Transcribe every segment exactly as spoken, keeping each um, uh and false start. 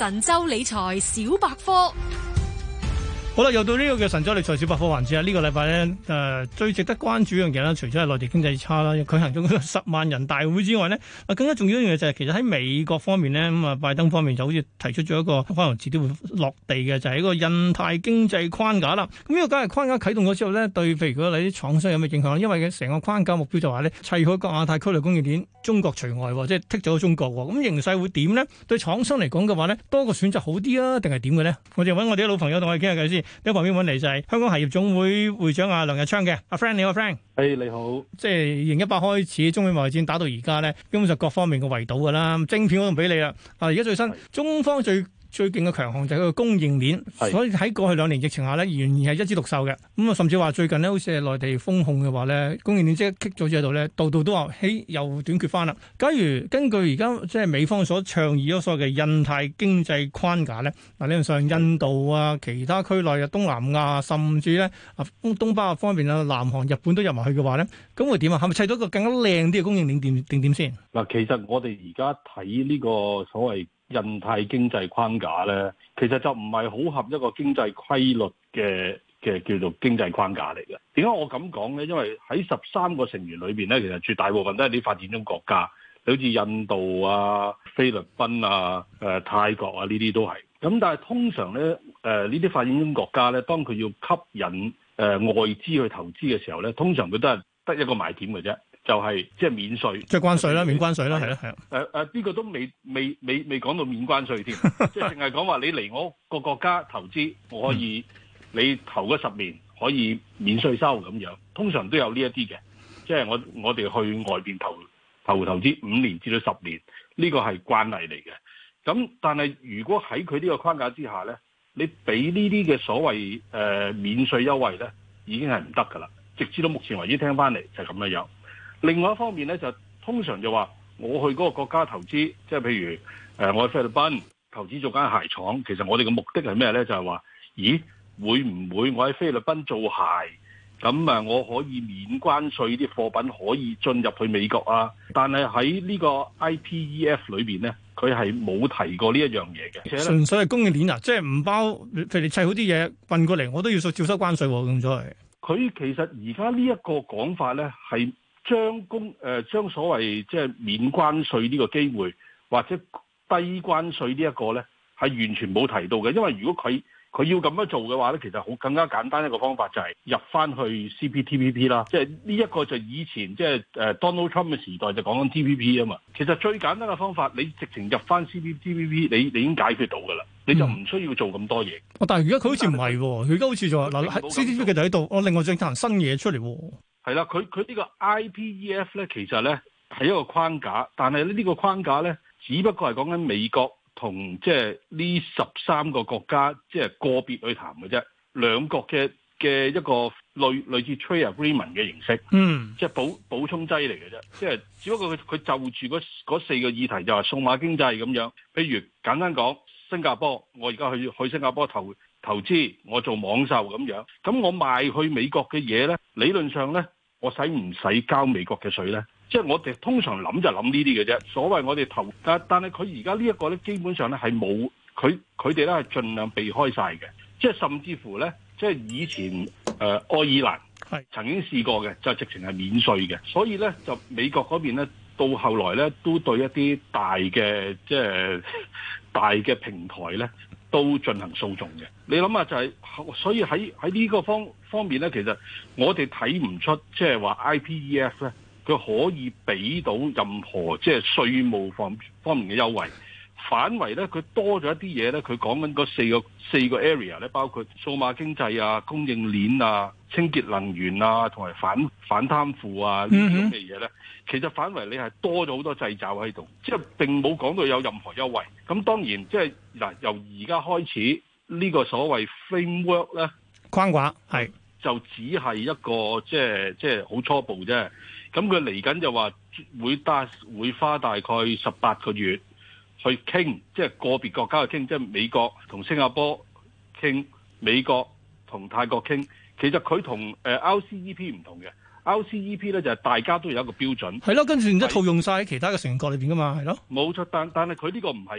神州理財小百科。 好啦，又到呢個嘅神州理財小百科環節啦。呢、這個禮拜咧，誒、呃、最值得關注一樣嘢啦，除咗係內地經濟差啦，舉行咗十萬人大會之外呢，啊更加重要一樣嘢就係其實喺美國方面呢，咁啊拜登方面就好似提出咗一個可能遲啲會落地嘅，就係、是、一個印太經濟框架啦。咁、這、呢個假如框架啟動咗之後呢，對譬如講你啲廠商有咩影響？因為嘅成個框架目標就話呢，砌好個亞太區內供應鏈，中國除外，即係剔咗中國。咁形勢會點呢？對廠商嚟講嘅話呢，多個選擇好啲啊，定係點嘅呢？我哋揾我哋啲老朋友同我哋傾下偈先。喺旁邊揾嚟就係香港鞋業總會會長阿梁日昌嘅阿 Frank，你好 Frank。 誒、hey, 你好， 即係二零一八開始中美貿易戰打到而家咧，基本上各方面嘅圍堵噶啦，晶片我都唔俾你啦。啊，而家最新是中方最最勁嘅強項就係佢個供應鏈，是所以喺過去兩年疫情下咧，仍然係一枝獨秀嘅。咁啊，甚至話最近咧，好似係內地封控嘅話咧，供應鏈即刻棘咗喺度咧，度度都話嘿又短缺翻啦。假如根據而家即係美方所倡議咗所謂嘅印太經濟框架咧，嗱理論上印度啊、其他區內嘅東南亞，甚至咧啊東北亞方面啊、南韓、日本都入埋去嘅話咧，咁會點啊？係咪砌到一個更加靚啲嘅供應鏈點定點先？ 嗱，其實我哋而家睇呢個所謂印太經濟框架咧，其實就唔係好合一個經濟規律嘅嘅叫做經濟框架嚟嘅。點解我咁講咧？因為喺十三個成員裏邊咧，其實絕大部分都係啲發展中國家，好似印度啊、菲律賓啊、誒、呃、泰國啊呢啲都係。咁但係通常咧，誒呢啲發展中國家咧，當佢要吸引誒、呃、外資去投資嘅時候咧，通常佢都係得一個賣點嘅啫。就係即係免稅， 即係關稅啦，免關稅啦，係咯，係啊。 誒誒，呢個都未未未未講到免關稅添，即係淨係講話你嚟我個國家投資，我可以你投嗰十年可以免稅收咁樣，通常都有呢一啲嘅。即係我我哋去外邊投投投資五年至到十年，呢個係慣例嚟嘅。咁但係如果喺佢呢個框架之下咧，你俾呢啲嘅所謂誒、呃、免稅優惠咧，已經係唔得㗎啦。直至到目前為止聽翻嚟就係咁樣樣。另外一方面咧，就通常就話我去嗰個國家投資，即係譬如誒、呃、我去菲律賓投資做間鞋廠，其實我哋嘅目的係咩咧？就係、是、話，咦會唔會我喺菲律賓做鞋，咁啊我可以免關稅啲貨品可以進入去美國啊？但係喺呢個 I P E F 裏邊咧，佢係冇提過呢一樣嘢嘅。 純粹係供應鏈啊，即係唔包，譬如你砌好啲嘢運過嚟，我都要照收關稅喎，咁所謂。 佢其實而家呢一個講法咧係。將公誒、呃、將所謂即係免關稅呢個機會，或者低關稅呢一個咧，係完全冇提到嘅。因為如果佢佢要咁樣做嘅話咧，其實好更加簡單一個方法就係入翻去 C P T P P 啦。即係呢一個就以前即係誒 Donald Trump 嘅時代就講緊 T P P 啊嘛。其實最簡單嘅方法，你直情入翻 C P T P P， 你你已經解決到㗎啦，你就唔需要做咁多嘢。 哦，但係而家佢好似唔係喎，佢而家好似就話嗱喺 C P T P 嘅就喺度，我另外再行新嘢出嚟喎。 係啦，佢佢呢個 I P E F 咧，其實咧係一個框架，但係呢個框架咧，只不過係講緊美國同即係呢十三個國家即係個別去談嘅啫，兩國嘅嘅一個類類似 trade agreement 嘅形式，嗯，即係補補充劑嚟嘅啫，即係只不過佢佢就住嗰嗰四個議題就係數碼經濟咁樣，譬如簡單講新加坡，我而家去去新加坡投。投資我做網售咁樣，咁我賣去美國嘅嘢呢，理論上呢，我使唔使交美國嘅稅呢？即係我哋通常諗就諗呢啲嘅啫。所謂我哋投，但但係佢而家呢一個呢，基本上呢係冇，佢佢哋呢係盡量避開晒嘅。即係甚至乎呢，即係以前誒、呃、愛爾蘭係曾經試過嘅，就直情係免稅嘅。所以呢，就美國嗰邊呢，到後來呢，都對一啲大嘅即係大嘅平台呢，都進行訴訟嘅，你諗下就係、是，所以喺喺呢個方方面咧，其實我哋睇唔出，即係話 I P E F 咧，佢可以俾到任何即係稅務方方面嘅優惠。反為咧，佢多咗一啲嘢咧，佢講緊嗰四個四個 area 咧，包括數碼經濟啊、供應鏈啊、清潔能源啊，同埋反反貪腐啊呢啲咁嘅嘢咧，其實反為你係多咗好多掣肘喺度，即係並冇講到有任何優惠。咁當然即係嗱，由而家開始呢個所謂 framework 咧框架係就只係一個即係即係好初步啫。咁佢嚟緊就話會大會花大概十八個月。去傾，即係個別國家去傾，即係美國同新加坡傾，美國同泰國傾。其實佢同誒 R C E P 唔同嘅 ，R C E P 咧就係大家都有一個標準。 係咯，跟住然之後套用晒喺其他嘅成員國裏邊噶嘛，係咯。 冇錯，但但係佢呢個唔係嘅，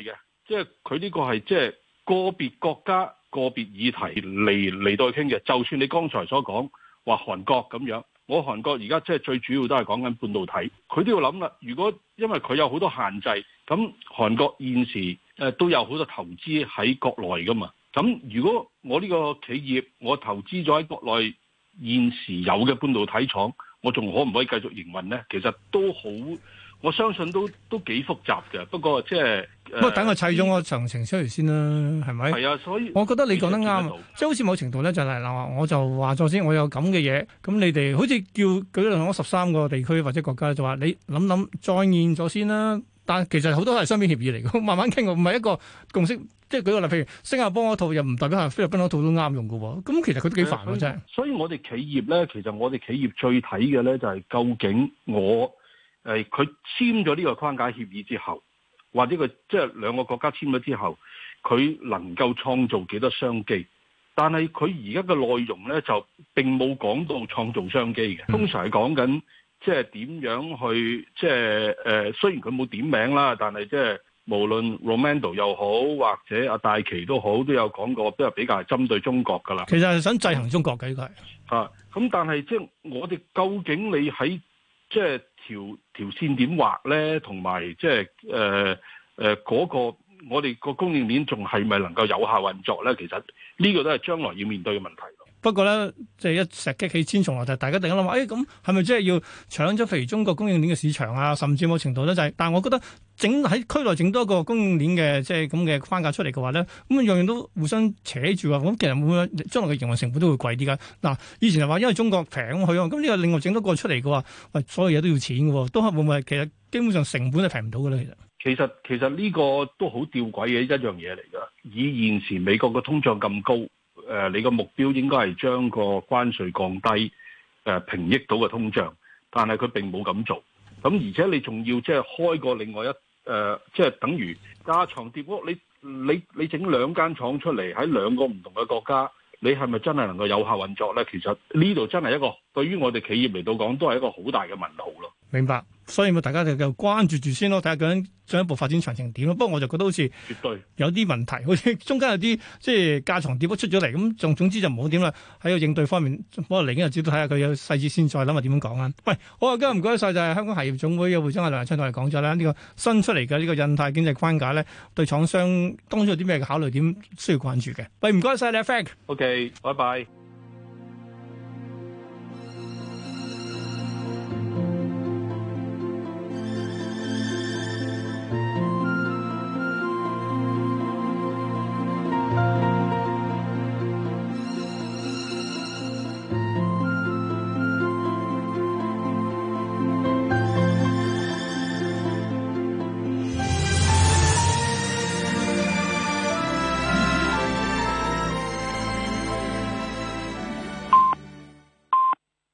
即係佢呢個係即係個別國家個別議題嚟嚟到去傾嘅。就算你剛才所講話韓國咁樣，我韓國而家即係最主要都係講緊半導體，佢都要諗啦。如果因為佢有好多限制，咁韓國現時誒都有好多投資喺國內噶嘛。咁如果我呢個企業我投資咗喺國內現時有嘅半導體廠，我仲可唔可以繼續營運呢？其實都好，我相信都都幾複雜嘅。不過即係不過等我砌咗個詳情出嚟先啦，係咪？ 係啊，所以我覺得你講得啱，即係好似某程度咧就係、是、嗱，我就話咗先，我有咁嘅嘢，咁你哋好似叫舉例我十三個地區或者國家就話你諗諗再現咗先啦。但係其實好多係雙邊協議嚟嘅，慢慢傾，唔係一個共識。即係舉個例，譬如新加坡嗰套又唔代表係菲律賓嗰套都啱用嘅喎。咁其實佢都幾煩嘅啫。 所以我哋企業咧，其實我哋企業最睇嘅咧就係究竟我誒佢簽咗呢個框架協議之後，或者佢即係兩個國家簽咗之後，佢能夠創造幾多商機？但係佢而家嘅內容咧就並冇講到創造商機嘅，通常係講緊。即係點樣去即係誒、呃？雖然佢冇點名啦，但係即係無論 Romando 又好，或者阿戴琪都好，都有講過，都係比較係針對中國㗎啦。 其實係想制衡中國嘅呢個係啊。咁但係即係我哋究竟你喺即係條條線點畫咧？同埋即係誒誒嗰個我哋個供應鏈仲係咪能夠有效運作咧？其實呢個都係將來要面對嘅問題。 不過咧，即係一石激起千重浪，就大家突然間諗話，誒咁係咪即係要搶咗譬如中國供應鏈嘅市場啊？甚至某程度咧就係、是，但係我覺得整喺區內整多個供應鏈嘅即係咁嘅框架出嚟嘅話咧，咁樣樣都互相扯住啊！咁其實會唔會將來嘅營運成本都會貴啲㗎？嗱，以前係話因為中國平去啊，咁呢個另外整多個出嚟嘅話，喂，所有嘢都要錢嘅喎，都係會唔會其實基本上成本係平唔到嘅咧？其實其實其實呢個都好吊詭嘅一樣嘢嚟㗎。以現時美國嘅通脹咁高。誒、呃，你個目標應該係將個關稅降低，誒、呃、平抑到個通脹，但係佢並冇咁做。咁而且你仲要即係開個另外一誒，即、呃、係、就是、等於架床疊屋。你你你整兩間廠出嚟喺兩個唔同嘅國家，你係咪真係能夠有效運作咧？其實呢度真係一個對於我哋企業嚟到講，都係一個好大嘅問號咯。 明白，所以咪大家就就關注住先咯，睇下究竟進一步發展詳情點咯。不過我就覺得好似絕對有啲問題，好似中間有啲即係架床疊屋出咗嚟，咁總總之就唔好點啦。喺個應對方面，不過嚟緊日子都睇下佢有細節先，再諗下點樣講啊。喂，好啊，今日唔該晒，就係香港鞋業總會嘅會長阿梁日昌同我哋講咗啦。呢個新出嚟嘅呢個印太經濟框架咧，對廠商當中有啲咩嘅考慮點需要關注嘅？喂，唔該晒你啊 Frank。 OK，拜拜。